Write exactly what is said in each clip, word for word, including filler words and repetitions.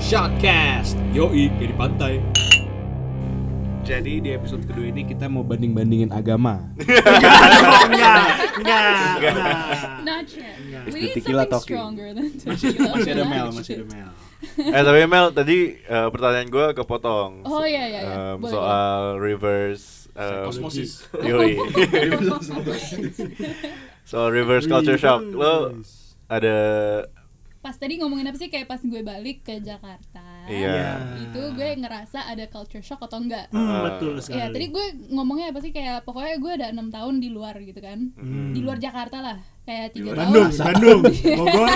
Shotcast, yoi, kayak di pantai. Jadi di episode kedua ini kita mau banding-bandingin agama. Enggak, enggak, enggak. Not yet. We need Tequila something talking. stronger than tequila. Masih ada Mel, masih ada Mel. Eh tapi Mel tadi uh, pertanyaan gue kepotong. Oh iya iya iya. Um, Boleh, soal reverse um, Kosmosis. Yoi. Soal reverse culture shock. Lo ada pas tadi ngomongin apa sih, kayak pas gue balik ke Jakarta, iya. itu gue ngerasa ada culture shock atau enggak. Hmm, Uh, betul sekali. Ya tadi gue ngomongnya apa sih, kayak pokoknya gue ada enam tahun di luar gitu kan. Hmm. Di luar Jakarta lah, kayak tiga Bandung, tahun. Bandung, Bogor,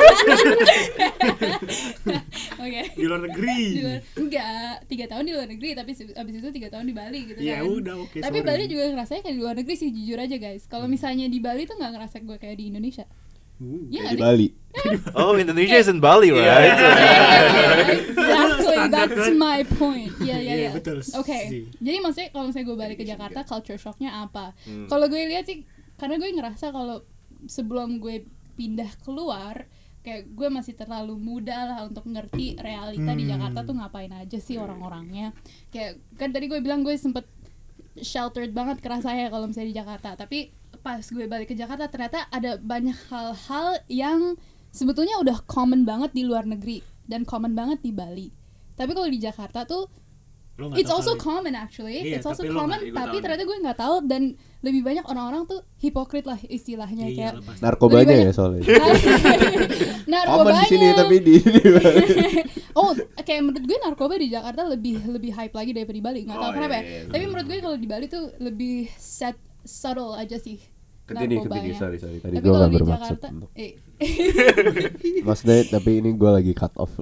Oke. di luar negeri. Di luar, enggak, tiga tahun di luar negeri, tapi se- abis itu tiga tahun di Bali gitu Ya kan. udah, oke. Tapi sorry. Bali juga ngerasanya kayak di luar negeri sih, jujur aja guys. Kalau misalnya di Bali tuh nggak ngerasa gue kayak di Indonesia. Uh, Iya Kayak di nggak Bali. Oh, Indonesia is in Bali, right? Exactly, Standar, that's kan? my point. Iya iya Iya, iya. betul Oke. sih. Jadi maksudnya kalau misalnya gue balik ke Jakarta, culture shocknya apa? Hmm. Kalau gue lihat sih, karena gue ngerasa kalau sebelum gue pindah keluar, kayak gue masih terlalu muda lah untuk ngerti realita di Hmm. Jakarta tuh ngapain aja sih orang-orangnya. Kayak kan tadi gue bilang gue sempet sheltered banget kerasanya kalau misalnya di Jakarta, tapi pas gue balik ke Jakarta ternyata ada banyak hal-hal yang sebetulnya udah common banget di luar negeri dan common banget di Bali. Tapi kalau di Jakarta tuh Lo nggak it's tahu also kali. common actually. Iya, It's also tapi lo common, nggak- gue tapi tahu ternyata gue nggak tahu, dan lebih banyak orang-orang tuh hipokrit lah istilahnya. Iya, Kayak lepas. Narkobanya Lebih ya banyak- soalnya. narkobanya. Common di sini tapi di, di Bali. Oh, kayak menurut gue narkoba di Jakarta lebih lebih hype lagi daripada di Bali. Nggak tahu Oh, kenapa iya, ya. iya, Tapi betul. menurut gue kalau di Bali tuh lebih set subtle aja sih. Continue, narkobanya. continue, sorry, sorry. Tadi Tapi gue kalau gak di bermaksud Jakarta, untuk eh, maksudnya, tapi ini gue lagi cut off.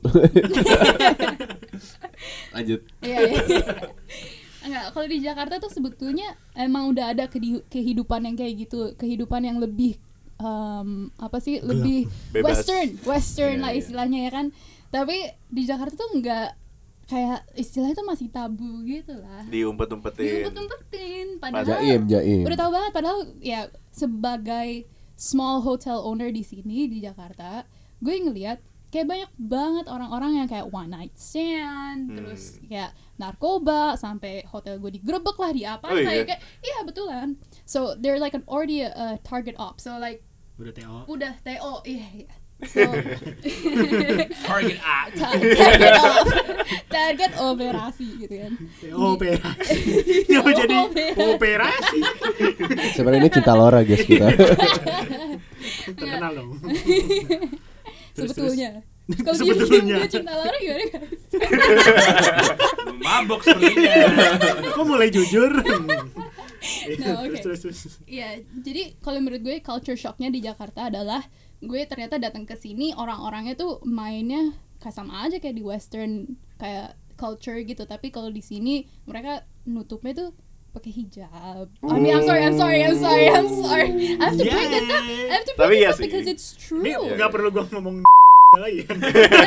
Lanjut. iya, iya. Enggak, kalau di Jakarta tuh sebetulnya emang udah ada kedi- kehidupan yang kayak gitu, kehidupan yang lebih um, apa sih, lebih Bebas. western, western Iya, lah iya. istilahnya ya kan. Tapi di Jakarta tuh enggak, kayak istilahnya tuh masih tabu gitu lah. Diumpet-umpetin. Diumpet-umpetin, padahal Jaim, jaim. udah tahu banget, padahal ya sebagai small hotel owner di sini di Jakarta, gue ngelihat kayak banyak banget orang-orang yang kayak one night stand, Hmm. terus kayak narkoba, sampai hotel gue digerebek lah, di apa Oh, iya? kayak iya betulan. So they're like an already a, a target op. So like Udah T O. udah T O, iya iya. So Target A. ta- target op, target operasi gitu kan. T O operasi. Jangan jadi operasi. Sebenarnya ini cinta Laura guys kita. Terkenal dong. Terus, Sebetulnya. terus. Kalau dia Sebetulnya. gue cinta Laura gimana guys? Mabok sepertinya. Kok mulai jujur? Nah, oke. Terus, terus, terus. Iya, jadi kalau menurut gue culture shocknya di Jakarta adalah gue ternyata datang ke sini orang-orangnya tuh mainnya kayak sama aja kayak di western kayak culture gitu, tapi kalau di sini mereka nutupnya tuh pakai hijab. I mean, I'm sorry, I'm sorry, I'm sorry, I'm sorry. I have to bring this up. I have to bring Tapi this iya up sih. because it's true. Ini nggak perlu gua ngomong lagi kan?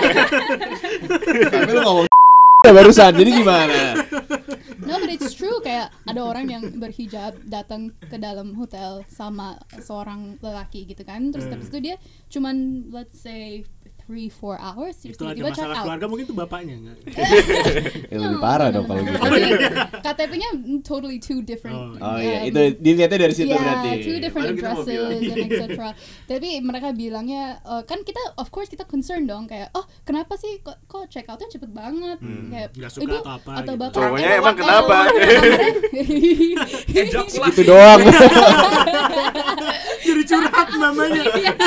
Tapi lu ngomong barusan, jadi gimana? No, but it's true, kayak ada orang yang berhijab datang ke dalam hotel sama seorang lelaki gitu kan, terus Hmm. habis itu dia cuman let's say three four hours terus Itu ada tiba-tiba check masalah out. keluarga, mungkin itu bapaknya nggak? Ya, lebih parah dong kalau gitu. Tapi K T P-nya totally two different. Oh, Oh iya, um, itu dilihatnya dari situ yeah, berarti. two different Baru kita mau addresses bilang. and et cetera. Tapi mereka bilangnya uh, kan kita of course kita concern dong, kayak oh kenapa sih kok, kok check out-nya cepet banget, Hmm, kayak nggak suka ibu atau apa atau gitu. bapak Cowoknya atau emang kenapa? Gitu doang. Jadi curhat namanya.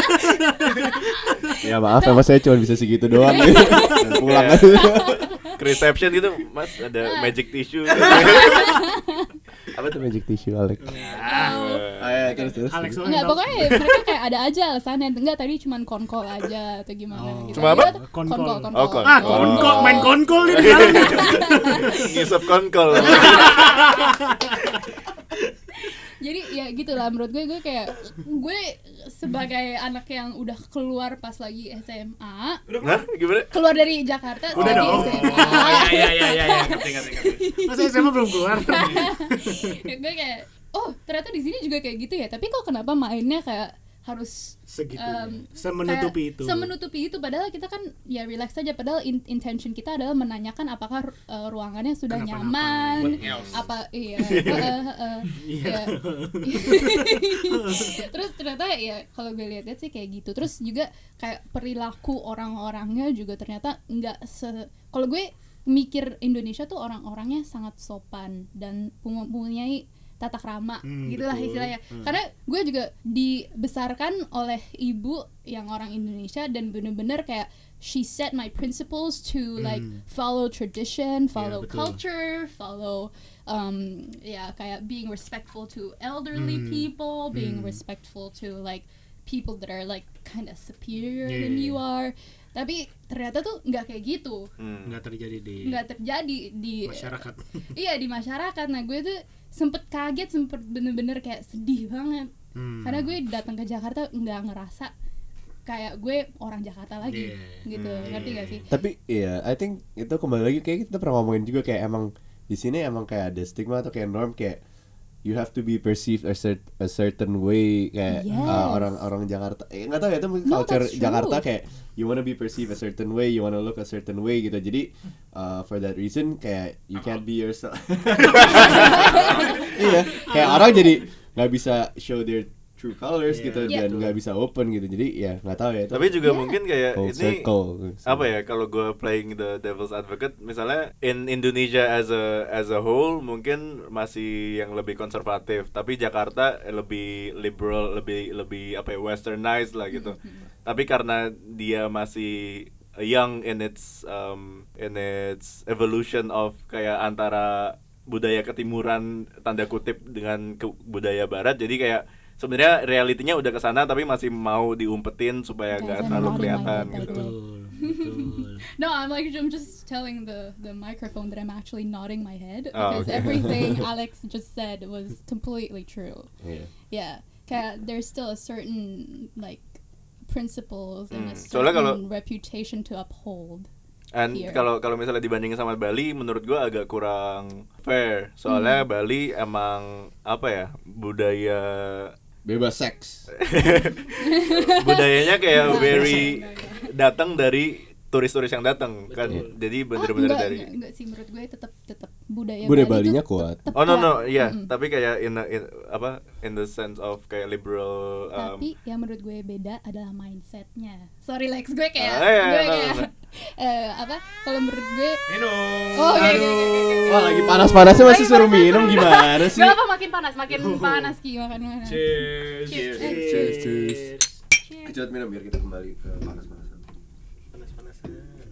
Ya maaf, emang saya cuma bisa segitu doang. Dan pulang aja. Ke reception gitu, Mas, ada magic tissue. Apa tuh magic tissue, Alex? Ah, ya, terus terus. Alex lo Enggak, yang tahu. pokoknya mereka kayak ada aja alasannya. Enggak, tadi cuman konkol aja atau gimana Oh. gitu. Cuma apa? Iya, Konkol. konkol, konkol. Oh, konkol. Ah, konkol, main konkol nih di dalam. Ngisep konkol. Jadi ya gitulah menurut gue, gue kayak gue sebagai anak yang udah keluar pas lagi S M A, Hah? Gimana? keluar dari Jakarta Udah lagi dong. S M A. Oh iya iya iya iya, ngerti ngerti ngerti. Masa S M A belum keluar? Ya, gue kayak oh ternyata di sini juga kayak gitu ya, tapi kok kenapa mainnya kayak harus segitu um, semenutupi kayak itu semenutupi itu padahal kita kan ya relax saja, padahal in- intention kita adalah menanyakan apakah uh, ruangannya sudah Kenapa-napa. nyaman apa iya uh, uh, uh, ya. Terus ternyata ya kalau gue lihat-lihat sih kayak gitu. Terus juga kayak perilaku orang-orangnya juga ternyata nggak se kalau gue mikir Indonesia tuh orang-orangnya sangat sopan dan mempunyai tata krama, hmm, gitulah betul. istilahnya. Hmm. Karena gue juga dibesarkan oleh ibu yang orang Indonesia dan bener-bener kayak she set my principles to Hmm. like follow tradition, follow betul. culture, follow um ya kayak being respectful to elderly Hmm. people, being Hmm. respectful to like people that are like kind of superior Yeah. than you are. Tapi ternyata tuh nggak kayak gitu, Hmm. nggak terjadi di nggak terjadi di masyarakat. iya di masyarakat. Nah gue tuh sempet kaget, sempet bener-bener kayak sedih banget Hmm. karena gue datang ke Jakarta nggak ngerasa kayak gue orang Jakarta lagi, Yeah. gitu, Hmm. ngerti gak sih? Tapi iya, I think itu kembali lagi kayak kita pernah ngomongin juga kayak emang di sini emang kayak ada stigma atau kayak norm kayak you have to be perceived a, cert- a certain way kayak Yes. uh, orang-orang Jakarta. Eh, nggak tahu ya itu mungkin No, culture that's true. Jakarta kayak you wanna be perceived a certain way, you wanna look a certain way gitu. Jadi uh, for that reason kayak you can't be yourself. Iya, kayak orang jadi nggak bisa show their true colors Yeah. gitu Yeah. dan nggak bisa open gitu. Jadi ya nggak tahu ya itu. Tapi juga Yeah. mungkin kayak Full ini circle. apa ya, kalau gue playing the devil's advocate, misalnya in Indonesia as a as a whole mungkin masih yang lebih konservatif, tapi Jakarta lebih liberal, lebih lebih apa ya, westernized lah gitu. Tapi karena dia masih young in its um, in its evolution of kayak antara budaya ketimuran tanda kutip dengan ke budaya barat, jadi kayak sebenarnya realitinya udah kesana tapi masih mau diumpetin supaya Guys, nggak I'm terlalu nodding my kelihatan head, by gitu. the way. betul betul No, I'm like I'm just telling the the microphone that I'm actually nodding my head Oh, because okay. everything Alex just said was completely true. Iya. Yeah, kayak there's still a certain like principles and a Hmm, soalnya certain kalau- reputation to uphold. And Here. kalau kalau misalnya dibandingin sama Bali, menurut gua agak kurang fair. Soalnya Hmm. Bali emang apa ya, budaya Bebas seks. budayanya kayak very datang dari turis-turis yang datang kan. Betul. Jadi Ah, bener-bener enggak, dari enggak, enggak sih, menurut gue tetap tetap budaya Budaya Bali Balinya tuh kuat. tetap Oh no no, kuat. iya, Mm-mm. tapi kayak in, the- in apa in the sense of kayak liberal um, Tapi yang menurut gue beda adalah mindsetnya. Sorry Lex, gue kayak Ah, iya, gue no, kayak no, no. eh, apa? Kalau menurut gue minum Oh, oke, oke, oke, oke, oke. Wah lagi panas-panasnya masih suruh minum gimana sih? Gak apa, makin panas, makin panas Ki, makan panas. cheers Cheers. cheers, Cheers, cheers. Cheers. Coba minum biar kita kembali ke panas-panasan. panas-panasan.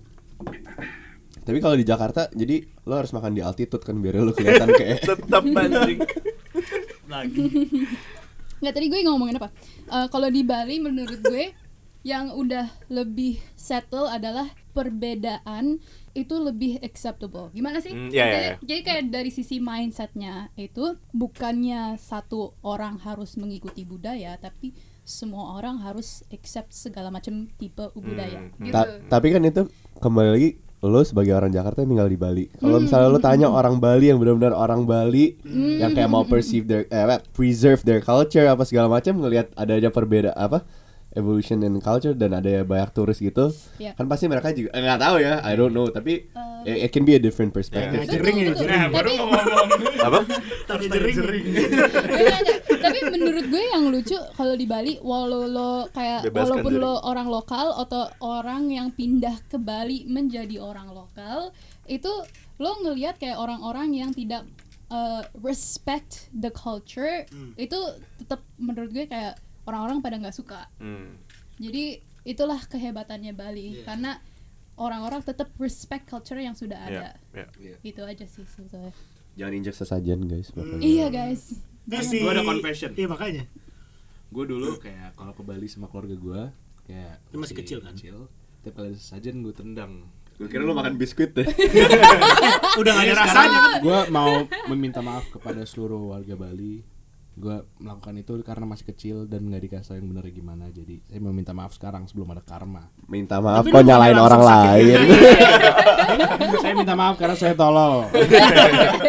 Tapi kalau di Jakarta, jadi lo harus makan di altitude kan biar lo kelihatan kayak. tetap anjing. lagi Nggak, tadi gue ngomongin apa? Eh, kalau di Bali menurut gue yang udah lebih settle adalah perbedaan itu lebih acceptable. Gimana sih? Hmm, iya, iya, jadi, iya. jadi kayak dari sisi mindsetnya itu bukannya satu orang harus mengikuti budaya, tapi semua orang harus accept segala macam tipe budaya. Hmm, Gitu. Ta- tapi kan itu kembali lagi lo sebagai orang Jakarta yang tinggal di Bali. Kalau Hmm. misalnya lo tanya orang Bali yang benar-benar orang Bali yang kayak mau perceive their eh, apa, preserve their culture apa segala macam, ngelihat adanya perbedaan apa evolution in culture dan ada banyak turis gitu, Iya. kan pasti mereka juga eh, nggak tahu ya, I don't know, tapi Eh, it can be a different perspective. Nah, jering ini, Betul, jering. betul. Baru Tapi- ngomong. Apa? Tanya jering. Enggak, enggak. Tapi menurut gue yang lucu kalau di Bali, walau lo kayak Bebaskan walaupun diri. lo orang lokal atau orang yang pindah ke Bali menjadi orang lokal, itu lo ngelihat kayak orang-orang yang tidak uh, respect the culture, Hmm. itu tetap menurut gue kayak orang-orang pada nggak suka. Hmm. Jadi itulah kehebatannya Bali, Yeah. karena orang-orang tetap respect culture yang sudah ada. Ya, ya. Itu aja sih sebetulnya. Jangan injek sesajen guys. pokoknya. Iya guys. Isi. Gua ada confession. Iya makanya. Gue dulu kayak kalau ke Bali sama keluarga gue kayak Lu masih kecil kan? Kecil. Tiap kali ada sesajen gue tendang. Gue kira lo makan biskuit deh. Udah gak ada rasanya kan. Gue mau meminta maaf kepada seluruh warga Bali. Gue melakukan itu karena masih kecil dan nggak dikasih yang benar gimana. Jadi saya mau minta maaf sekarang sebelum ada karma. Minta maaf Tapi kok lu nyalain langsung orang sakit lain. Saya minta maaf karena saya tolol. Tapi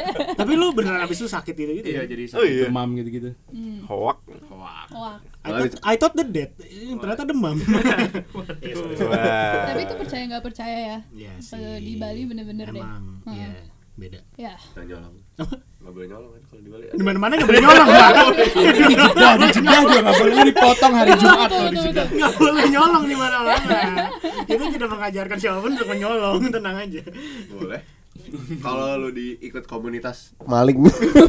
Tapi lu beneran abis itu sakit gitu-gitu Iya ya? jadi Oh, iya. demam gitu-gitu. Hoak. Wah. Wah. I thought, I thought the dead, eh, ternyata demam. Iya, sorry, sorry. Wah. Tapi itu percaya nggak percaya ya. Iya sih. Kalau di Bali bener-bener deh. Emang, Heeh. iya, beda. Ya. Jangan nyolong. Nggak boleh nyolong kan kalau di Bali. Di mana-mana nggak boleh nyolong, Pak. Nah, di Jeddah juga nggak boleh lu dipotong hari Jumat Betul, kalau di betul, Jeddah. betul. Nggak boleh nyolong di mana-mana. Kita tidak mengajarkan siapapun untuk menyolong, tenang aja. Boleh. Kalau lu diikut komunitas maling.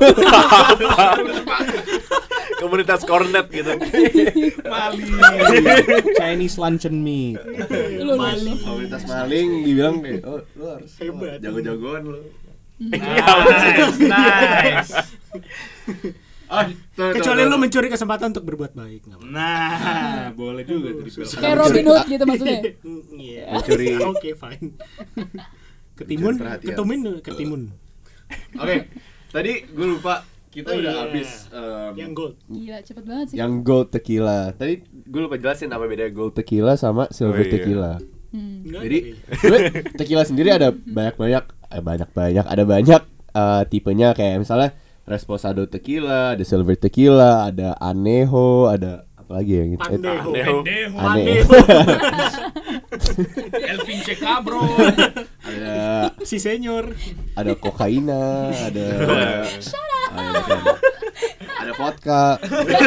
Komunitas cornet gitu. Bali. Chinese luncheon meat. Lu, lu, lu. komunitas maling dibilang deh, oh lu harus Hebat. jago-jagoan lu. Nice, nice. Ah, tuh, Kecuali tuh, lu tuh. mencuri kesempatan untuk berbuat baik, nggak apa-apa. Nah, boleh juga tuh dipeluk. Kayak Robin Hood gitu maksudnya. Iya. Mencuri. Oke, fine. Ketimun, Mencuri perhatian. ketumin, ketimun. Oke, tadi gue lupa kita Oh, udah iya. habis um, Yang gold. Gila, cepet banget sih. yang gold tequila. Tadi gue lupa jelasin apa bedanya gold tequila sama silver Oh, iya. tequila. Hmm. Nggak Jadi ada. sebenarnya tequila sendiri ada banyak-banyak, eh, banyak-banyak, ada banyak eh, tipenya kayak misalnya Reposado tequila, ada silver tequila, ada anejo, ada apa lagi ya gitu. Pandejo. Anejo. Ane- El pinche cabro. ada Si senyor. ada kokaina, ada ada, ada vodka.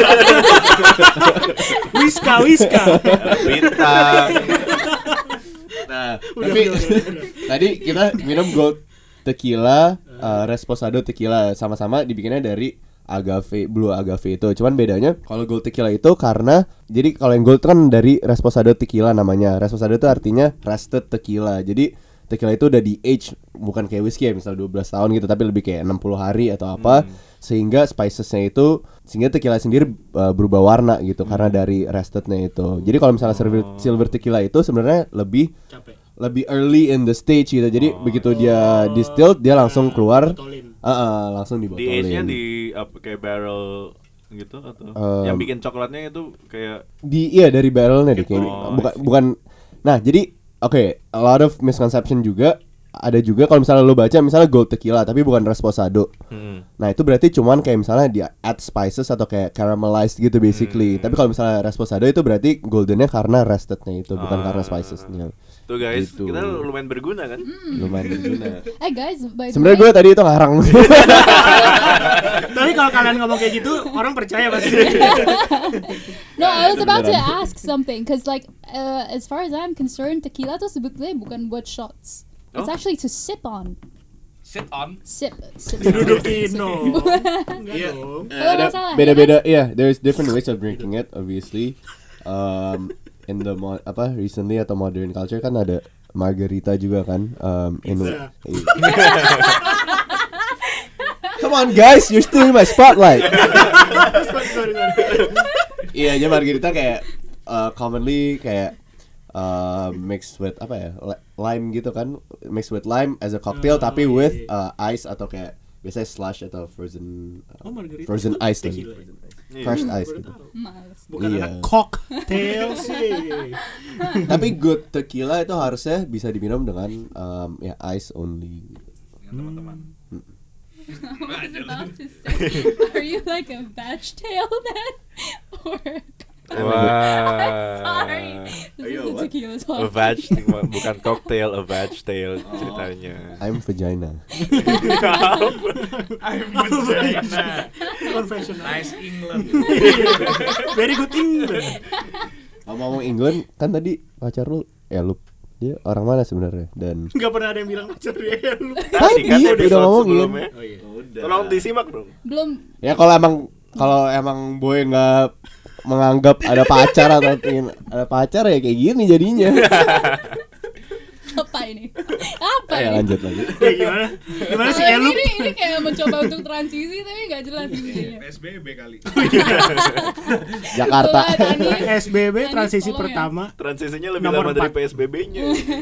Wiska, wiska. Bintang. Nah, Udah, tapi udah, udah, udah. tadi kita minum gold tequila, uh, Reposado tequila, sama-sama dibikinnya dari agave, blue agave itu. Cuman bedanya kalau gold tequila itu karena jadi kalau yang gold kan dari Reposado tequila namanya. Reposado itu artinya rested tequila. Jadi tequila itu udah di age, bukan kayak whiskey ya misal dua belas tahun gitu, tapi lebih kayak enam puluh hari atau apa. Sehingga spicesnya itu, sehingga tequila sendiri uh, berubah warna gitu karena dari restednya itu. Jadi kalau misalnya silver, silver tequila itu sebenarnya lebih Capek. lebih early in the stage gitu. Jadi begitu dia distilled dia langsung keluar, Botolin. uh, uh, langsung Di dibotolin. age-nya di apa kayak barrel gitu atau Um, yang bikin coklatnya itu kayak Di iya dari barrelnya deh kayaknya. Oh, bukan I see. bukan. Nah, jadi oke, okay, a lot of misconception juga. Ada juga kalau misalnya lo baca misalnya gold tequila tapi bukan Reposado. hmm. Nah, itu berarti cuman kayak misalnya dia add spices atau kayak caramelized gitu basically. Hmm. Tapi kalau misalnya Reposado itu berarti goldennya karena restednya itu, bukan Ah. karena spicesnya. Tuh guys, Gitu. kita lumayan berguna kan? Lumayan berguna. Eh guys, by the Sebenarnya way, gue tadi itu ngarang. Tapi kalau kalian ngomong kayak gitu, orang percaya pasti. no, I was about to beneran. ask something, cause like uh, as far as I'm concerned, tequila tuh sebetulnya bukan buat shots. It's Oh. actually to sip on. Sit on. Sip, sip. Didudukin no. Enggak Iya. dong. Eh, Kalau ada nggak salah, ya beda-beda, iya. There's different ways of drinking it, obviously. Um, in the mo- apa recently atau modern culture kan ada margarita juga kan. Um, in Pizza. Come on guys, you're stealing my spotlight. Sorry, sorry, sorry. Iya, aja margarita kayak uh, commonly kayak uh, mixed with apa ya, li- lime gitu kan, mixed with lime as a cocktail Oh, tapi iya, with iya. uh, ice atau kayak biasanya slush atau frozen uh, Oh, margarita. frozen ice lagi, Tequila. crushed Baru ice gitu. tahu. Males. Bukan Iya. anak cocktail sih. Tapi good tequila itu harusnya bisa diminum dengan um, ya ice only. Teman-teman. I was about to say, are you like a batch tail then, or? Wah. Sorry, this Ayo, is a what? tequila A talk. vag, bukan cocktail, a vag tail ceritanya. I'm vagina. I'm vagina. Confessional. Nice England. Very good English. Ngomong England kan tadi pacar lu, ya lu dia orang mana sebenarnya dan Enggak pernah ada yang bilang pacar dia lu. Tadi kan Tadi episode udah ngomongin. sebelumnya. Oh iya. Tolong disimak dong. Belum. ya kalau emang kalau emang boy nggak menganggap ada pacar atau ingin ada pacar ya kayak gini jadinya. Apa ini? Apa Ya ini? lanjut lagi. Ya gimana? Gimana sih Oh, Elu? ini ini kayak mencoba untuk transisi tapi nggak jelas intinya. P S B B kali. Jakarta. Coba, Tani. P S B B Tani, transisi tolong ya. pertama. Transisinya lebih Nomor lama dari empat. P S B B-nya.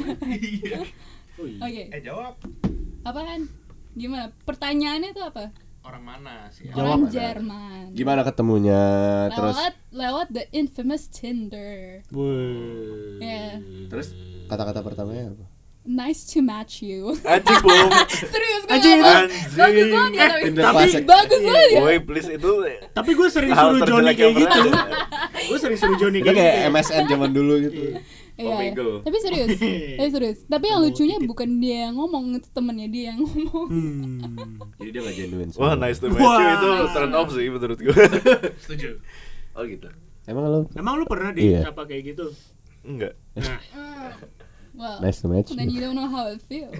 Oke, Eh jawab. apaan? Gimana? Pertanyaannya tuh apa? Orang mana sih? Jawab. Orang Jerman. Gimana ketemunya terus Lewat lewat the infamous Tinder. Wuh. Ya. terus kata-kata pertamanya apa? nice to match you. Anjing belum. Serius gue Anjing, ngomong, anjing. bagus banget ya tapi Tinder Tapi- classic. bagus banget ya. Boy, please itu Tapi gue sering hal suruh Johnny terjelek kayak yang gitu. pernah ada. Gue sering suruh Johnny Itu kayak kayak gitu. M S N zaman dulu gitu. Iya, iya. Omegle. Tapi serius, tapi serius. Tapi yang Oh, lucunya titik. bukan dia yang ngomong, itu temennya dia yang ngomong. Hmm. Jadi dia gak genuine. Wah, semua. nice to meet you Wah. itu turn off sih menurut gue. Setuju. Oh gitu. Emang lo Emang lu pernah Iya. disapa kayak gitu? Enggak. Nah, Well, nice to meet then you. you don't know how it feels.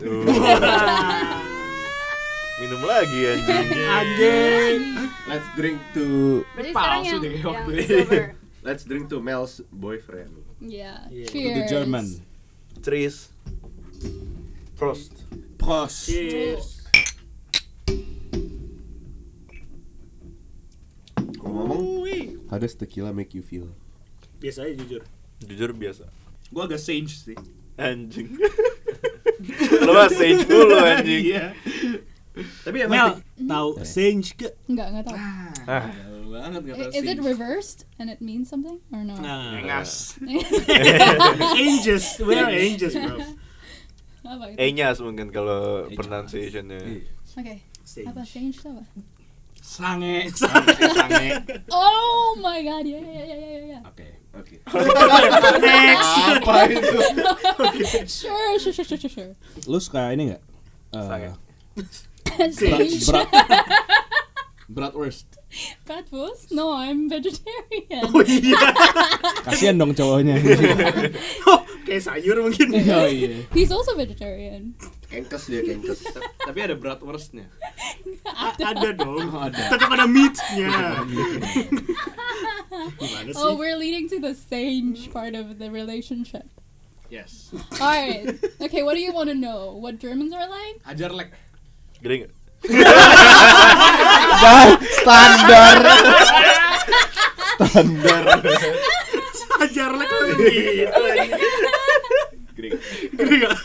Minum lagi anjing. anjing. Let's drink to Berarti sekarang Palsu yang, deh yang waktu ini. silver. Let's drink to Mel's boyfriend. Yeah. Yeah. To Cheers. the German. Cheers. Prost. Prost. Cheers. Ngomong, Wih. how does tequila make you feel? Biasa aja jujur. Jujur biasa. Gue agak sage sih. Anjing. Lo mah sage mulu anjing. Iya. Tapi Mel, tahu sage ke? Enggak, enggak tahu. Ah, Jauh banget nggak tahu I- Is it sih. reversed and it means something or no? Nah, ngas. angels, we are angels, bro. Apa itu? E-nya mungkin kalau pronunciation-nya. Oke. Sage. Apa sage itu apa? Sange, sange, sange. Oh my god, ya ya ya ya ya. Oke, oke. Next. Apa itu? Sure, sure, sure, sure, sure, sure. Lu suka ini nggak? Eh, Sange. Sage. berat, bratwurst. Bratwurst? No, I'm vegetarian. Oh iya. Kasian dong cowoknya. Oh, kayak sayur mungkin. Oh iya. He's also vegetarian. Kengkes dia kengkes. Tapi ada bratwurstnya. A- ada dong. Oh, ada. Tetap ada meat-nya. Gimana sih? Oh, we're leading to the sage part of the relationship. Yes. Alright. Okay, what do you want to know? What Germans are like? Ajar lek. Gede nggak? Dah, standar. Standar. Ajar lah kalau gitu. Gede. Gede gak?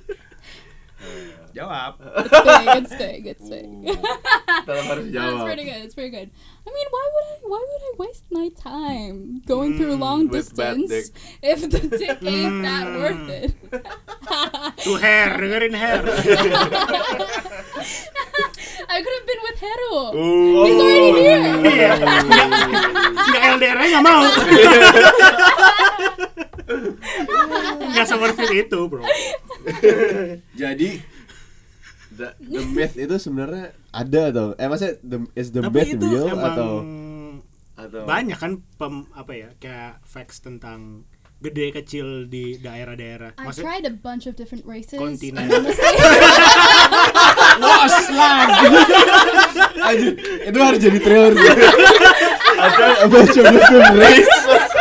Jawab. It's big, it's big, it's big. Tetap harus That's jawab. pretty good, it's pretty good. I mean, why would I why would I waste my time going through long with bad distance if the dick ain't that worth it? Tuh hair, dengerin hair. I could have been with Hero. Oh. He's already here. Iya. Nggak L D R aja nggak mau. Nggak seperti itu, bro. Jadi the, the myth itu sebenarnya ada atau eh maksudnya the, is the Tapi myth itu real emang atau atau banyak kan pem, apa ya, kayak facts tentang gede kecil di daerah-daerah. I Maksud tried a bunch of different races. Kontinen. and honestly- Wah, slang. Anjir, itu harus jadi trailer sih. Ada bunch of different race.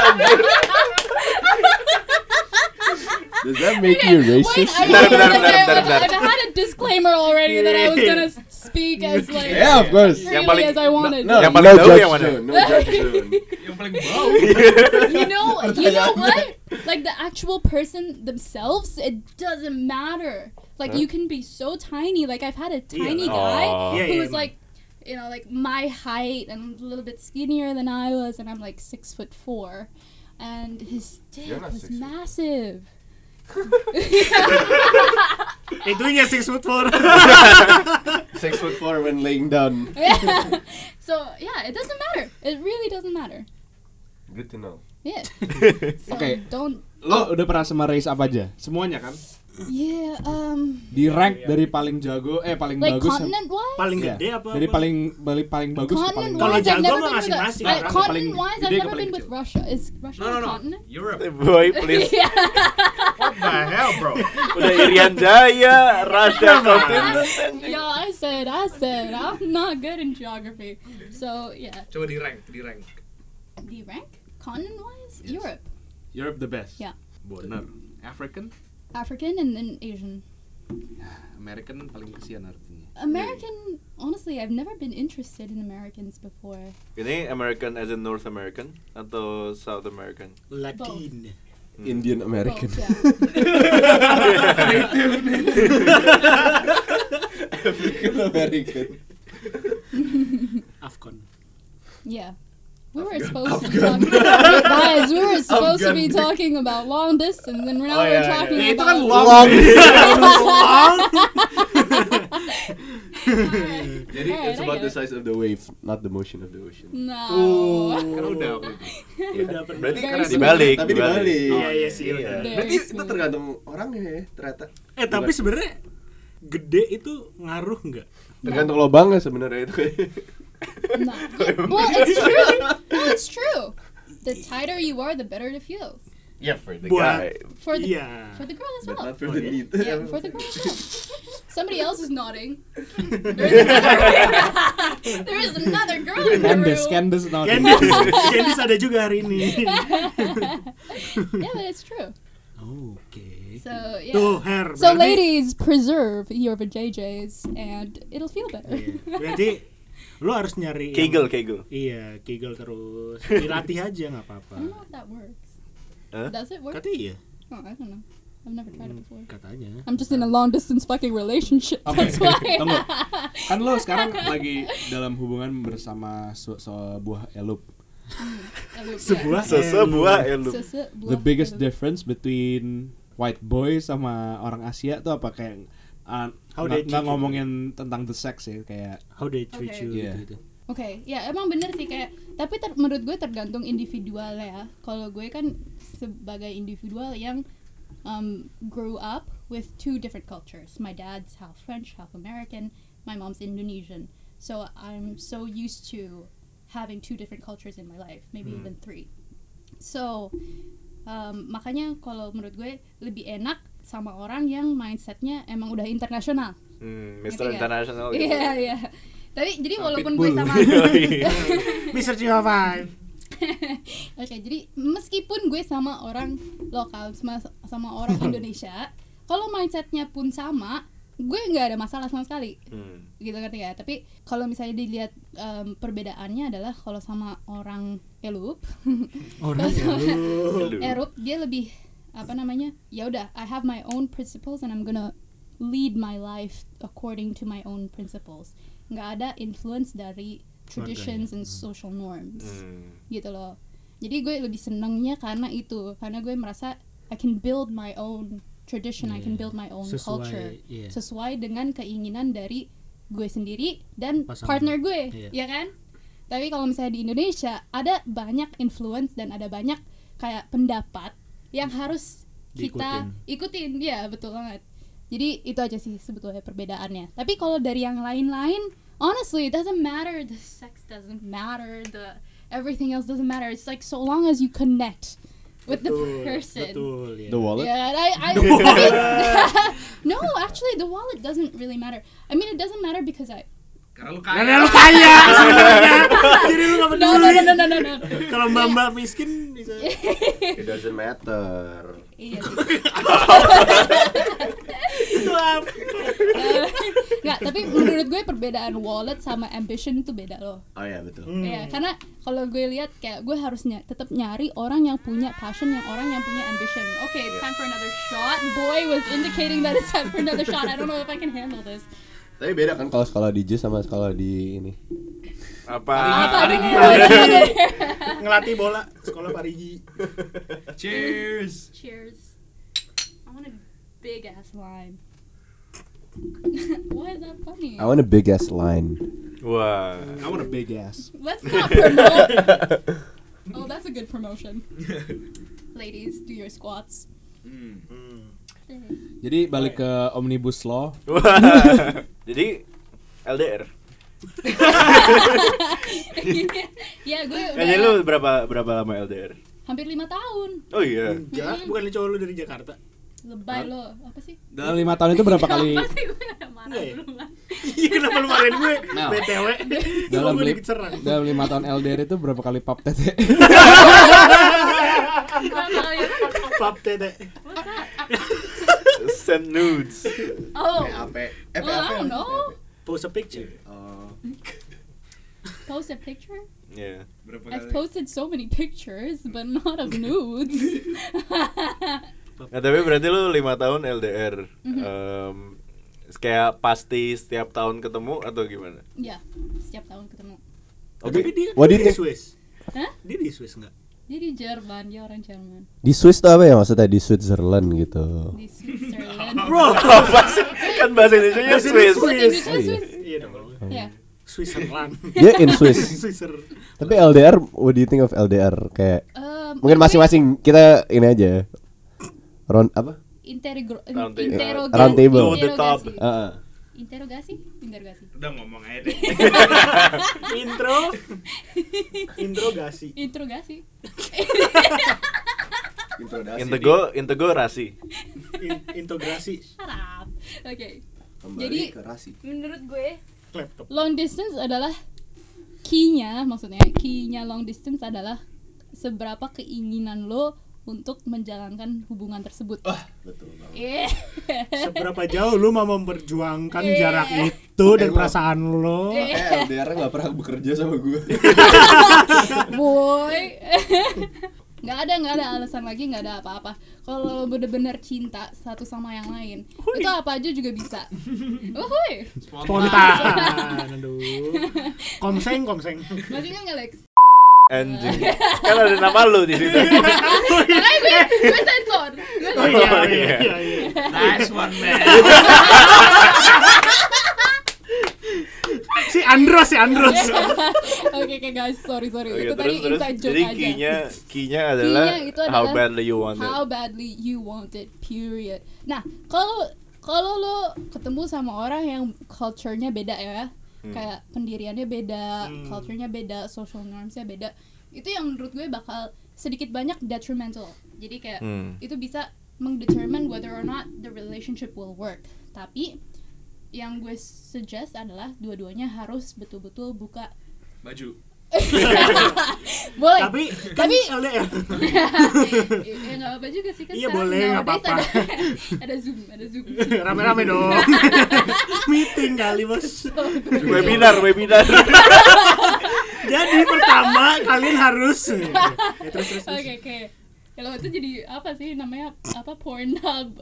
Does that make you Wait, racist? I, Bentar, bentar, I, bentar, bentar, I, I had a disclaimer already that I was gonna speak as like Yeah, of course. freely Yang paling- as I wanted. No, Yang no paling tahu judge yang mana? zone, no judge zone. Yang paling bau. You know, you know what? Like the actual person themselves, it doesn't matter. Like you can be so tiny. Like I've had a tiny Yeah. guy Aw. Yeah, who yeah, was emang. like, you know, like my height and a little bit skinnier than I was, and I'm like six foot four, and his dick You're not was six foot. massive. itunya six foot four. Six foot four when laying down. So yeah, it doesn't matter. It really doesn't matter. Good to know. Yeah. So Okay. don't. Lo udah pernah sama race apa aja? Semuanya kan? Yeah. Um. Di rank dari paling jago eh paling Like bagus. continent wise. Paling Iya. gede apa? Dari apa? paling paling paling bagus ke paling Continent Kalau wise, I've jago never mah been with a, masing-masing, like, kan? Paling continent wise, gede I've ke never paling been with kecil. Russia. Is Russia a continent? Europe. Boy, please. Yeah. What the hell, bro? Udah Irian Jaya, Russia continent. Yo, I said, I said, I'm not good in geography. So yeah, Coba di rank, di rank. the rank continent wise, Yes. Europe, Europe the best. Yeah. Bener. African? African, and then Asian. American paling kesian artinya. American, honestly, I've never been interested in Americans before. Ini American as in North American atau South American? Latin. Indian American. Both, yeah. African American. Afcon. Yeah. We were supposed to be talking guys, we were supposed to be talking about long distance and now Oh, we're yeah, yeah. talking Ya, itu about kan long. Long. Jadi Alright, it's I about get the it. size of the wave, not the motion of the ocean. No. Kan udah aku. Udah pernah. Berarti Very karena sweet. dibalik, Tapi dibalik. Iya, iya sih, udah. Very Berarti itu sweet. tergantung orangnya ya, ternyata. Eh tapi sebenarnya gede itu ngaruh nggak? Tergantung lobangnya sebenarnya itu. No. Yeah, well, it's true. No, it's true. The tighter you are, the better it feels. Yeah, for the Buat- guy, For the Iya. for the girl as but well. not for the need. Yeah, for the girl as well. Somebody else is nodding. There's another, there is another girl in the Candice, room. Candice no. Candice, Candice ada juga hari ini. Yeah, but it's true. Oke. So yeah. Tuh, Her. So berarti- ladies, preserve your vajayjays and it'll feel better. Iya. Berarti lu harus nyari yang- Kegel, kegel. Iya, kegel terus. Dilatih aja nggak apa-apa. I don't know if that works. Hah? Does it work? Kata iya, Oh, I don't know. I've never tried it before. katanya. I'm just in a long distance fucking relationship. Oke, That's why. tunggu. Kan lo sekarang lagi dalam hubungan bersama su- sebuah elup. Sebuah Sesebuah elu. The biggest difference between white boy sama orang Asia tuh apa kayak uh, How nggak they nggak treat you. ngomongin tentang the sex ya kayak How they treat Okay. you Iya. gitu. Oke, ya emang bener sih kayak tapi ter- menurut gue tergantung individual ya. Kalau gue kan sebagai individual yang um, grew up with two different cultures. My dad's half French, half American. My mom's Indonesian. So I'm so used to having two different cultures in my life, maybe even three. So um, makanya kalau menurut gue lebih enak sama orang yang mindsetnya emang udah internasional. Hmm, Ngerti Mister nggak? International gitu. Iya iya. Tapi jadi Sama walaupun Pitbull. gue sama Mister Jiwa Five. Oke, jadi meskipun gue sama orang lokal sama sama orang Indonesia, kalau mindsetnya pun sama, gue nggak ada masalah sama sekali. Hmm. Gitu ngerti ya. Tapi kalau misalnya dilihat em, perbedaannya adalah kalau sama orang elup, Orang ya lu. Elu. erup dia lebih apa namanya? Ya udah, I have my own principles and I'm gonna lead my life according to my own principles. Nggak ada influence dari traditions and social norms. Hmm. Gitu loh. Jadi gue lebih senengnya karena itu, karena gue merasa I can build my own tradition, I can build my own Sesuai, culture iya. sesuai dengan keinginan dari gue sendiri dan Pasangan. partner gue, Iya. ya kan? Tapi kalau misalnya di Indonesia ada banyak influence dan ada banyak kayak pendapat yang harus kita ikutin, ya betul banget. Jadi itu aja sih sebetulnya perbedaannya. Tapi kalau dari yang lain-lain, honestly, it doesn't matter. The sex doesn't matter. The everything else doesn't matter. It's like so long as you connect with the Betul, person. Betul, ya. The wallet. Yeah, and I, I, I mean, no, actually, the wallet doesn't really matter. I mean, it doesn't matter because I. Karena lu kaya sebenarnya. Jadi lu nggak No, peduli. no, no, no, no, no. Kalau mbak-mbak miskin bisa. It doesn't matter. Iya sih. Itu apa? Nggak, tapi menurut gue perbedaan wallet sama ambition itu beda loh. Oh ya betul. Iya, karena kalau gue lihat kayak gue harusnya tetap nyari orang yang punya passion, yang orang yang punya ambition. Okay, it's time for another shot. Boy was indicating that it's time for another shot. I don't know if I can handle this. Tapi beda kan kalau sekolah di J sama sekolah di ini. Apa? Apa dulu? Ngelatih bola sekolah Parigi. cheers. Cheers. I want a big ass line. Why is that funny? I want a big ass line. Wah. I want a big ass. Let's not promote. Oh, that's a good promotion. Ladies, do your squats. Jadi balik ke Omnibus Law. Wah. Jadi L D R. Ya, gue Kayaknya lu udah berapa berapa lama L D R? hampir lima tahun. Oh iya. Enggak, bukan cowok lu dari Jakarta. Lebay lo, apa sih? Dalam lima tahun itu berapa kali? Apa sih gue udah marah Enggak ya? duluan. Iya, kenapa lu marahin gue? Mel. B T W. Dalam, gue li- dikit serang. dalam lima tahun L D R itu berapa kali pap tete? Berapa ya? Pap tete. Send nudes. Oh, P A P. Eh, well, I don't know. Post a picture. Oh. Post a picture? Iya. I've posted so many pictures, but not of nudes. Nah, tapi berarti lu lima tahun L D R. Em, kayak pasti setiap tahun ketemu atau gimana? Ya, setiap tahun ketemu. Tapi dia What do you dari think? Swiss. Hah? Dia di Swiss nggak? Dia di Jerman, dia orang Jerman. Di Swiss tuh apa ya maksudnya di Switzerland gitu? Di Switzerland. Bro, Apa sih? Kan bahasa Indonesia Bahasa Swiss. Bahasa Indonesia Oh, iya. Swiss. iya dong. Ya. Switzerland. Dia in Swiss. Swisser. Tapi L D R, what do you think of L D R? Kayak Um, mungkin masing-masing kita ini aja. Round apa? Intergro- Round table. interogasi. Round table. Go the top. Interogasi. Heeh. Interogasi? Interogasi. Udah ngomong aja deh. Intro. Introgasi. Interogasi. Intego, intego rasi. In- integrasi Shut up. Oke. Kembali Jadi ke rasi. menurut gue laptop. long distance adalah key-nya, maksudnya key-nya long distance adalah seberapa keinginan lo untuk menjalankan hubungan tersebut. Betul banget. Yeah. Seberapa jauh lu mau memperjuangkan Iya. jarak itu dan Eh, perasaan lo? Eh. Eh, L D R nggak pernah bekerja sama gue. Boy. Nggak ada nggak ada alasan lagi, nggak ada apa-apa. Kalau lo bener-bener cinta satu sama yang lain, itu apa aja juga bisa. Uhuy. Spontan. Aduh. Komseng, komseng. Masih ingat nggak Lex? Anjing. Kan ada nama lu di situ. Makanya gue, gue sensor. Gue Oh sensor. iya, iya, iya, iya. Nice one man. Si Andros, si Andros. Oke oke guys, sorry sorry. Oke, Itu terus tadi terus inside joke jadi aja. key-nya key-nya adalah Key-nya itu how adalah badly you want it. How badly you want it, period. Nah, kalau kalau lo ketemu sama orang yang culture-nya beda ya, Hmm. kayak pendiriannya beda, Hmm. culture-nya beda, social norms-nya beda, itu yang menurut gue bakal sedikit banyak detrimental. Jadi kayak Hmm. itu bisa mendetermine whether or not the relationship will work. Tapi yang gue suggest adalah dua-duanya harus betul-betul buka Baju. boleh. Tapi Tapi L D R. ya nggak apa juga sih kan. Iya, sekarang boleh, nggak nowadays apa-apa. Ada, ada zoom, ada zoom. Rame-rame dong. Meeting kali, Bos. Webinar, webinar. Jadi pertama kalian harus ya, terus terus. terus. Oke oke. Kalau itu jadi apa sih namanya apa Pornhub?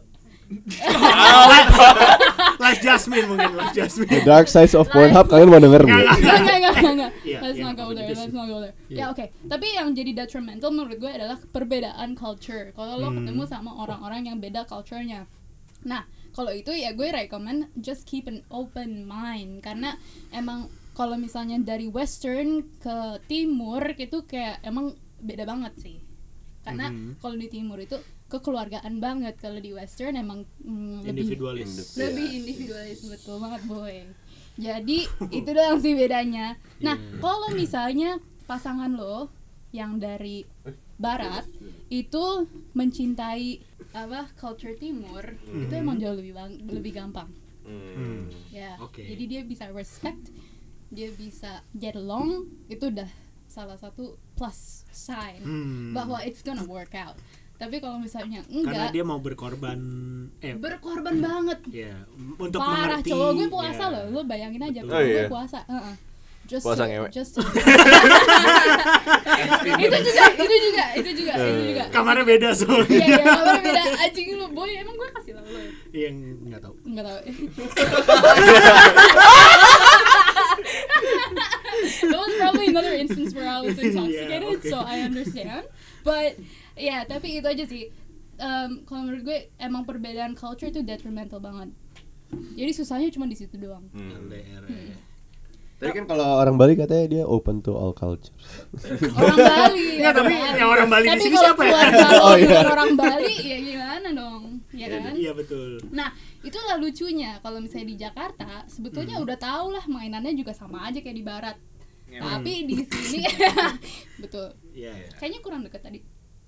Like Jasmine mungkin, like The Jasmine. Dark Side of Pornhub kalian mau denger nggak? Enggak enggak enggak enggak. Iya, Let's iya, not go maksudnya there. sih. Let's not go there. Iya. Ya oke. Tapi yang jadi detrimental menurut gue adalah perbedaan culture. Kalau lo Hmm. ketemu sama orang-orang yang beda culture-nya. Nah, kalau itu ya gue recommend just keep an open mind karena emang kalau misalnya dari western ke timur itu kayak emang beda banget sih. Karena Mhm. kalau di timur itu kekeluargaan banget, kalau di western emang mm, lebih Individualis. lebih individualis, betul banget boy. Jadi itu doang sih bedanya. Nah, kalau misalnya pasangan lo yang dari barat itu mencintai apa culture timur, itu emang jauh lebih bang- lebih gampang. Hmm. Ya. Oke. Jadi dia bisa respect, dia bisa get along, itu udah salah satu plus sign Hmm. bahwa it's gonna work out. Tapi kalau misalnya Karena enggak, dia mau berkorban eh berkorban banget. ya untuk Parah, mengerti. cowok gue puasa ya. loh, lo bayangin aja Betul. cowok Oh, gue iya? puasa. Heeh. Just Puasa to- ngewe. just to- itu juga, itu juga, itu juga, itu juga. Kamarnya beda soalnya. Iya, iya, kamarnya beda. Anjing lu, boy, emang gue kasih tau lo. Yang enggak tahu. Enggak tahu. That was probably another instance where I was intoxicated, Yeah, okay. so I understand. But ya, tapi itu aja sih. Um, kalau menurut gue emang perbedaan culture itu detrimental banget. Jadi susahnya cuma di situ doang. Hmm. L D R. ya. Tapi kan kalau orang Bali katanya dia open to all cultures. Orang Bali. Nggak, tapi yang orang Bali di Tapi sini kalau siapa ya? keluarga lo Oh, iya. bukan orang Bali, ya gimana dong? Ya kan? Iya betul. Nah, itulah lucunya kalau misalnya di Jakarta, sebetulnya udah tau lah mainannya juga sama aja kayak di barat. Tapi di sini betul. Iya, iya. Kayaknya kurang deket tadi.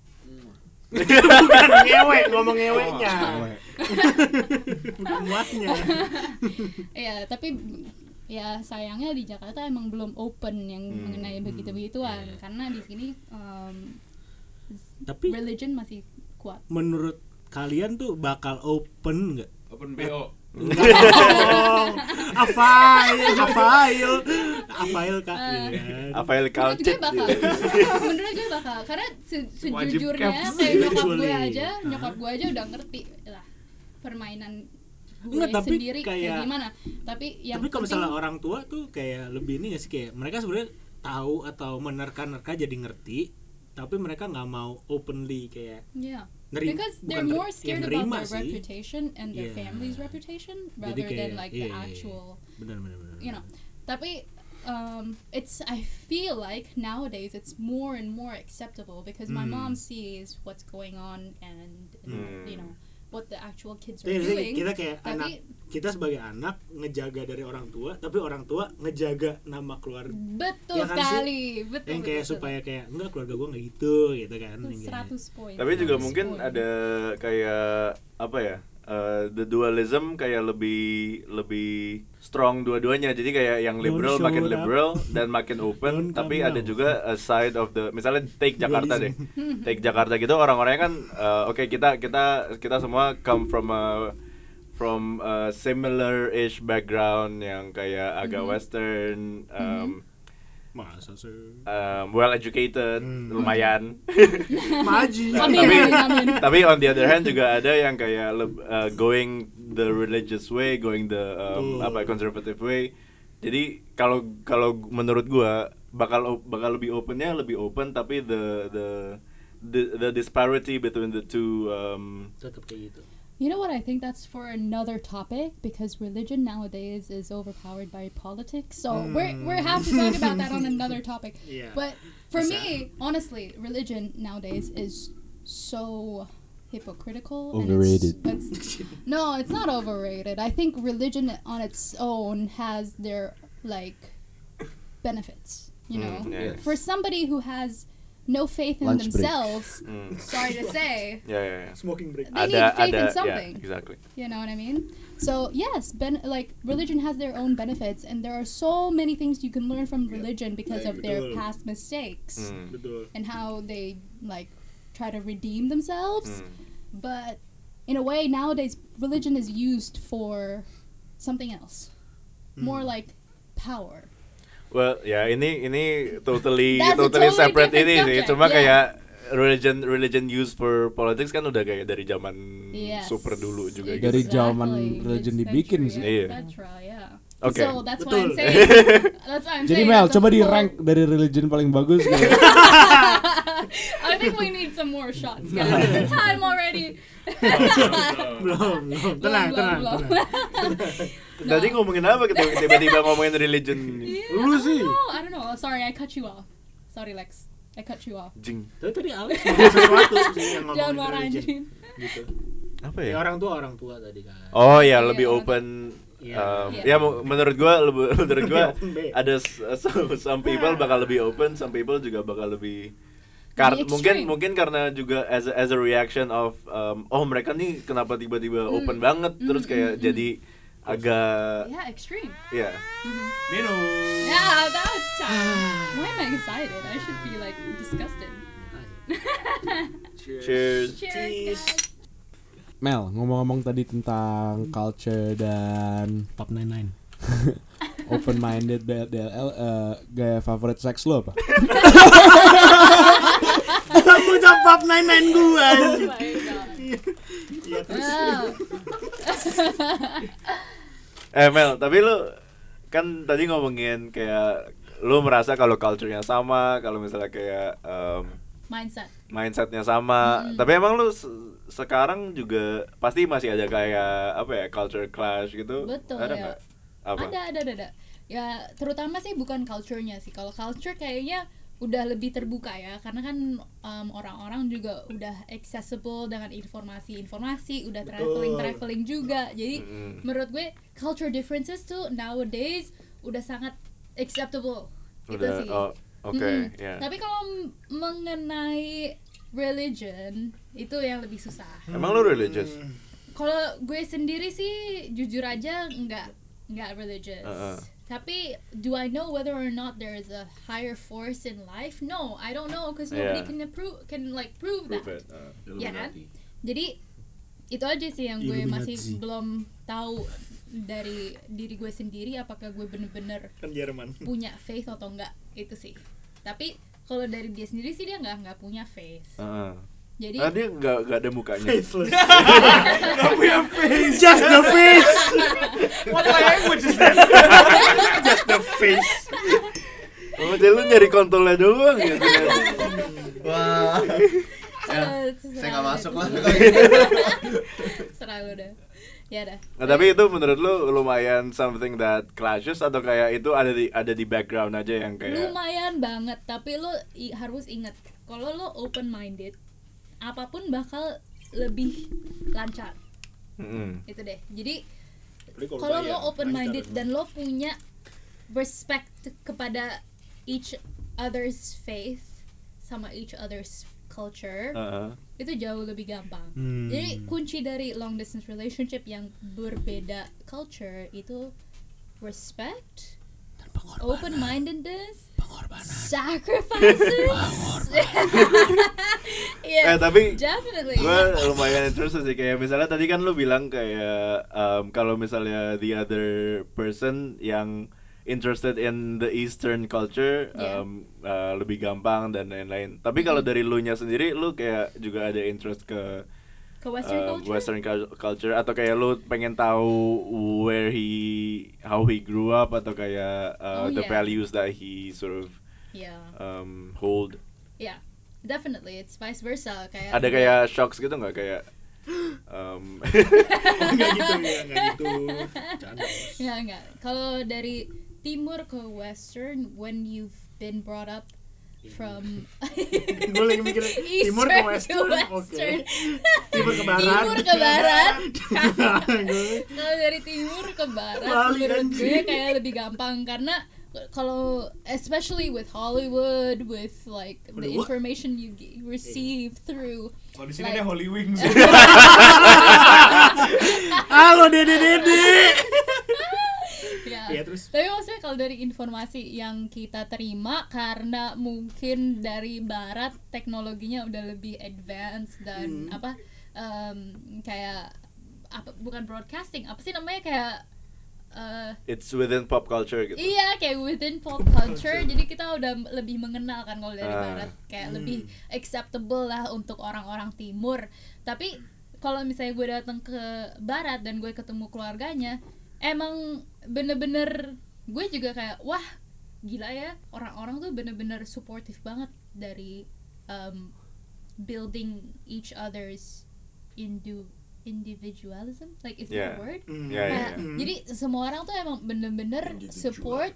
Bukan ngewe, ngomong ngeweknya. Bukan muatnya. Iya, tapi ya sayangnya di Jakarta emang belum open yang Hmm. mengenai begitu-begituan karena di sini um, Tapi religion masih kuat. menurut kalian tuh bakal open nggak? Open B O. Enggak dong. Afail, afail, afail kak. Ah. Iya. Afail Menurut gue Kalcet. bakal. Menurut gue bakal karena se- Wajib sejujurnya caps. kayak nyokap gue Actually. aja, nyokap gue aja udah ngerti lah permainan gue Enggak, tapi sendiri kayak, kayak- gimana. Tapi yang Tapi kalau penting- misalnya orang tua tuh kayak lebih ini nggak sih kayak mereka sebenarnya tahu atau menerka-nerka jadi ngerti, tapi mereka nggak mau openly kayak Yeah. Neri- Because they're bukan more ter- scared ya, about nerima their sih. reputation and their Yeah. family's reputation Jadi rather kayak, than like iya, the iya, iya. actual, benar-benar you know. Tapi um, it's I feel like nowadays it's more and more acceptable because my Hmm. mom sees what's going on and Hmm. you know what the actual kids are Jadi doing. kita kayak Tapi- anak kita sebagai anak ngejaga dari orang tua, tapi orang tua ngejaga nama keluarga. Betul Ya kan sih? sekali, betul. Yang kayak betul, supaya kayak enggak keluarga gue nggak gitu gitu kan. betul. Yang kayak- seratus poin. Tapi juga seratus mungkin poin. ada kayak apa ya? Uh, the dualism kayak lebih lebih strong dua-duanya. Jadi kayak yang liberal Don't show makin it up. liberal dan makin open, Don't tapi come ada now. juga a side of the misalnya take Jakarta deh. Take Jakarta gitu orang-orangnya kan uh, oke kita kita kita semua come from a from a similar-ish background yang kayak agak western um, Masa sih? um, well educated, Hmm. lumayan. Maju. Amin, tapi amin, amin. tapi on the other hand juga ada yang kayak leb- uh, going the religious way, going the um, Betul. apa conservative way. Jadi kalau kalau menurut gua bakal o- bakal lebih opennya lebih open, tapi the the the, the disparity between the two um, Tetap kayak gitu. You know what? I think that's for another topic because religion nowadays is overpowered by politics. So we're we're have to talk about that on another topic. Iya. But for Bisa. me, honestly, religion nowadays is so hypocritical. Overrated. And it's, it's, no, it's not overrated. I think religion on its own has their like benefits. You know, Mm, yes. for somebody who has no faith in Lunch break. themselves, mm, sorry to say, ya ya ya. Smoking break. They Ada need faith ada in ya, something. exactly. you know what I mean? So yes, ben- like religion has their own benefits, and there are so many things you can learn from religion because of their Betul. past mistakes Mm, Betul. and how they like try to redeem themselves. mm. But in a way, nowadays religion is used for something else, more Hmm. like power. Well, ya ini ini totally That's a totally totally separate different ini sih. subject, Cuma yeah. kayak religion religion used for politics kan udah kayak dari zaman Yes. super dulu juga gitu. Dari zaman Exactly. religion Mid-century, dibikin sih. Iya. et cetera, yeah. Oke. So that's why I'm Betul. saying. That's why I'm Jadi saying. Mel, it's a coba di whole- rank dari religion paling bagus gitu. I think we need some more shots, guys. Time already. Belum, belum. Tenang, Belum, tenang, belum, tenang. Tadi ngomongin apa kita tiba-tiba ngomongin religion? Yeah, Lu I sih. don't know. I don't know. Sorry, I cut you off. Sorry, Lex. I cut you off. Jing. Tapi tadi Alex ngomong sesuatu sih yang Jangan ngomongin marah religion. anjing. Gitu. Apa Ya, ya? orang tua orang tua tadi kan. Oh ya, Iya, lebih orang- open. Iya. um, Iya. Ya mu- menurut gua lebih menurut gua Open, Be. ada s- some, some people bakal lebih open, some people juga bakal lebih Kar- Lebih mungkin extreme. mungkin karena juga as a, as a reaction of um, oh mereka nih kenapa tiba-tiba Hmm. open banget terus kayak jadi agak Yeah, extreme. ya Minum. Yeah, that's time. Why am I excited? I should be like disgusted. cheers. Cheers, guys. Mel, ngomong-ngomong tadi tentang culture dan Pop sembilan sembilan. open minded D L L, eh, gaya favorit seks lo apa? Kamu jawab sembilan sembilan gua. Oh anjing. my god. Iya terus. Ah. Eh Mel, tapi lu kan tadi ngomongin kayak lu merasa kalau culture-nya sama, kalau misalnya kayak um, Mindset. mindsetnya sama. Mm-mm. Tapi emang lu se- sekarang juga pasti masih ada kayak apa ya culture clash gitu? Betul, ada ya. nggak? Apa? Ada, ada, ada, ada. Ya, terutama sih bukan culture-nya sih. Kalau culture kayaknya udah lebih terbuka ya, karena kan um, orang-orang juga udah accessible dengan informasi-informasi, udah Betul. traveling-traveling juga. Jadi Mm-mm. menurut gue culture differences tuh nowadays udah sangat acceptable. Itu Udah, sih. oh, oke, Mm-mm. ya. Tapi kalau m- mengenai religion itu yang lebih susah. Emang lu religious? Kalau gue sendiri sih jujur aja nggak nggak religious. Uh-uh. Tapi do I know whether or not there is a higher force in life? No, I don't know because nobody Yeah. can approve can like prove, Prove that. it. Uh, Ya kan? Illuminati. Jadi itu aja sih yang gue masih Illuminati. belum tahu dari diri gue sendiri apakah gue bener-bener Kan Jerman. punya faith atau enggak, itu sih. Tapi kalau dari dia sendiri sih dia nggak nggak punya faith. Uh-uh. Jadi Ah, dia nggak nggak ada mukanya. Faceless. Gak punya face. Just the face. What language is that? Just the face. Oh, jadi lu nyari kontolnya doang ya. Wah. Eh, Saya nggak masuk lah. Serah lu dah. Ya dah. Nah, tapi itu menurut lu lumayan something that clashes atau kayak itu ada di ada di background aja yang kayak Lumayan banget, tapi lu i- harus ingat kalau lu open minded, apapun bakal lebih lancar. Mm-mm. Itu deh. Jadi Apalagi kalau bayar, lo open minded lancar dan lo punya respect kepada each other's faith sama each other's culture, Uh-huh. itu jauh lebih gampang. Hmm. Jadi kunci dari long distance relationship yang berbeda culture itu respect, open mindedness, sacrifices. Eh, Yeah, tapi definitely. gue lumayan interested sih, kayak misalnya tadi kan lu bilang kayak um, kalau misalnya the other person yang interested in the Eastern culture Yeah. um, uh, lebih gampang dan lain-lain. Tapi kalau dari lu nya sendiri, lu kayak juga ada interest ke Ke Western um, culture. Western cul- culture atau kayak lu pengen tahu where he how he grew up atau kayak uh, Oh, the yeah. values that he sort of Yeah, um, hold. yeah, definitely. It's vice versa. Kayak Ada kayak shocks gitu nggak kayak um, Enggak gitu ya, enggak gitu. Canda. Enggak, enggak. Kalau dari timur ke western, when you've been brought up from Gue lagi mikir timur ke western, oke. western. Timur ke barat. Timur ke barat. Gue- Kalau dari timur ke barat, Balik, menurut gue anjing. kayak lebih gampang karena kalau especially with Hollywood, with like the Hollywood? information you g- receive through Kalau di sini like- ada Holy Wings. Halo Dede Dede. ya. Iya, terus? Tapi maksudnya kalau dari informasi yang kita terima karena mungkin dari barat teknologinya udah lebih advance dan Hmm. apa em, kayak apa bukan broadcasting apa sih namanya kayak eh, it's within pop culture gitu. iya kayak within pop culture jadi kita udah m- lebih mengenal kan kalau dari Ah. barat kayak Hmm. lebih acceptable lah untuk orang-orang timur. Tapi kalau misalnya gue datang ke barat dan gue ketemu keluarganya emang bener-bener gue juga kayak wah gila ya orang-orang tuh bener-bener supportive banget dari um, building each other's indu individualism like is Yeah. that a word? Hmm. Ya, ya, Kayak, ya. jadi semua orang tuh emang bener-bener Individual. support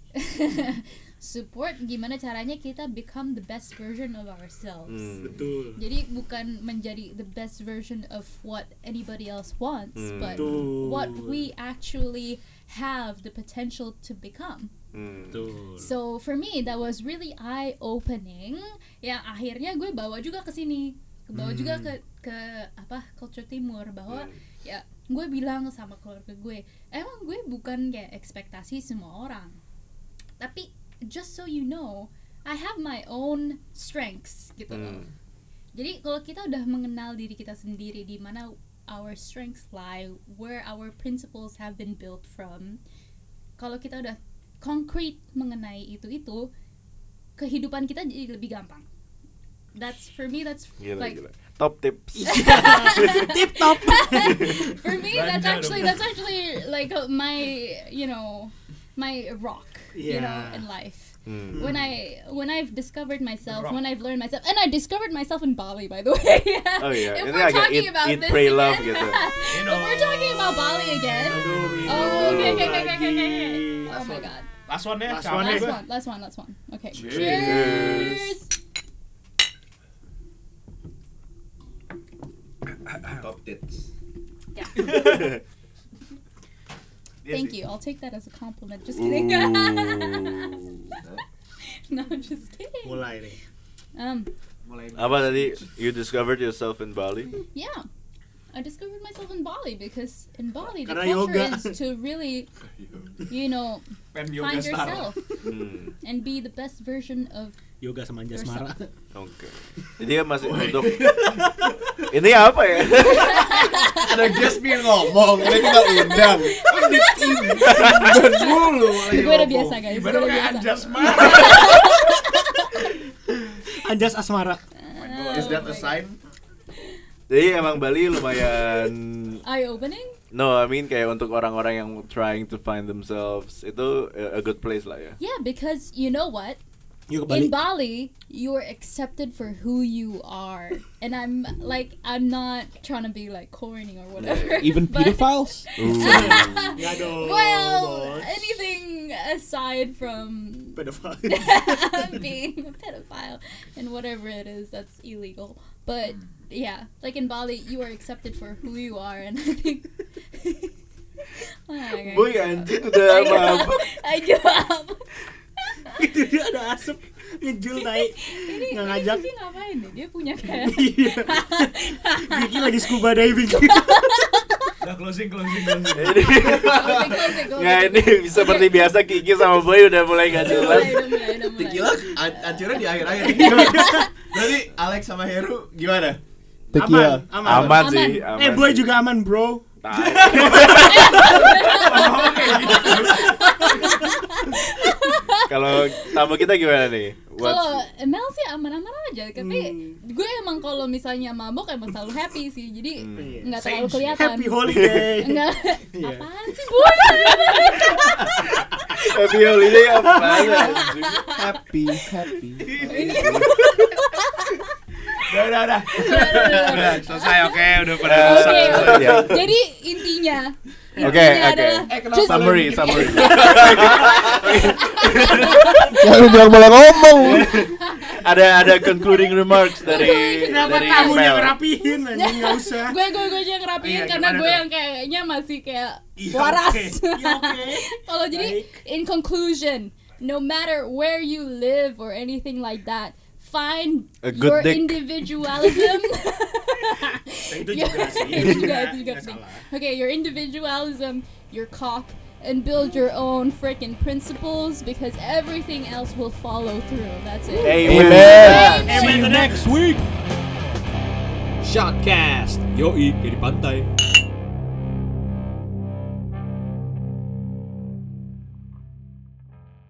support gimana caranya kita become the best version of ourselves. Hmm. Betul. Jadi bukan menjadi the best version of what anybody else wants, Hmm. but Betul. what we actually have the potential to become. Hmm. Betul. So for me that was really eye opening. Yang akhirnya gue bawa juga ke sini, bawa Hmm. juga ke ke apa culture timur bahwa Hmm. ya gue bilang sama keluarga gue emang gue bukan kayak ekspektasi semua orang, tapi just so you know I have my own strengths gitu loh. Hmm. Jadi kalau kita udah mengenal diri kita sendiri di mana our strengths lie, where our principles have been built from, kalau kita udah concrete mengenai itu-itu, kehidupan kita jadi lebih gampang. That's for me that's Gila, like gila. Top tips. Tip top. for me that's Belanja actually dong. that's actually like uh, my you know my rock you know Yeah. in life. Hmm. When I when I've discovered myself, Rock. when I've learned myself, and I discovered myself in Bali, by the way. Oh iya, If ini we're agak talking eat- about eat, this pray, again, love gitu. You know. if we're talking about Bali again, Aduh, oh okay okay okay okay okay, okay. lagi. Oh my god, Last one ya. Last capek one last ya. gua. one, last one, last one. Okay, Cheers. cheers. Top tits. Yeah. Iya Thank sih. you. I'll take that as a compliment. Just kidding. No, just kidding. Mulai nih. Um, Mulai. Apa tadi? You discovered yourself in Bali? yeah. I discovered myself in Bali because in Bali the Karena culture yoga. is to really, you know, Pen yoga find star. yourself Hmm. and be the best version of Yoga sama Anjasmara. Oke. Jadi ya masih untuk ini apa ya? Ada guest yang ngomong, ini kita undang. Ini timban mulu. gue udah biasa guys. Gue Baru udah kayak biasa. Anjas mah. Anjas Asmara. Is that a sign? Jadi emang Bali lumayan Eye opening? No, I mean kayak untuk orang-orang yang trying to find themselves itu a a good place lah ya. Yeah, because you know what? Yuk In kembali. Bali, you're accepted for who you are, and I'm like, I'm not trying to be like corny or whatever. Even but- pedophiles? Ya dong. Well, bos. anything aside from Pedophile. being a pedophile and whatever it is, that's illegal. But yeah, like in Bali, you are accepted for who you are, and I think. Oh my God. Boy anjing udah mabuk. I give up. Itu dia ada asap ngejul tai. Ini Nggak ini ngajak. Kiki ngapain nih? Dia punya kayak. Iya. Kiki lagi scuba diving. Udah closing closing closing. Ini Closing, closing, closing. nggak ini seperti biasa Kiki sama Boy udah mulai nggak Udah jelas. mulai, udah mulai, udah mulai. Tequila an- hancurnya di akhir-akhir. Berarti Alex sama Heru gimana? Tequila. Aman, aman. Aman Aman. sih. Aman Eh, Boy sih. juga aman, bro. Tai. Kalau tamu kita gimana nih? What's- Kalau Mel sih aman-aman aja, tapi Hmm. gue emang kalau misalnya mabok emang selalu happy sih, jadi Hmm. nggak Iya. terlalu Same. kelihatan. Happy holiday. Enggak. Iya. Apaan sih boy? Happy holiday apa anjing? Happy, happy. Udah udah udah. Udah selesai oke udah pada Eh, rusak. Oke, Oke. oke. Jadi intinya, Oke, intinya oke. adalah Eh, kenapa just- Summary, summary. Ya lu bilang malah ngomong. ada ada concluding remarks dari Kenapa dari tamunya Mel. ngerapihin anjing enggak usah. gue gue gue aja yang ngerapiin Iya, karena gimana gue tuh? yang kayaknya masih kayak Iya, waras. oke. Iya, oke. Kalau jadi Baik. in conclusion, no matter where you live or anything like that, find A good your dick. individualism. Itu juga sih. Itu juga, itu juga Nggak penting. salah. Okay, your individualism, your cock, and build your own freaking principles because everything else will follow through. That's it. Amen. Amen. Amen. Next week. Shotcast. Yoi, di pantai.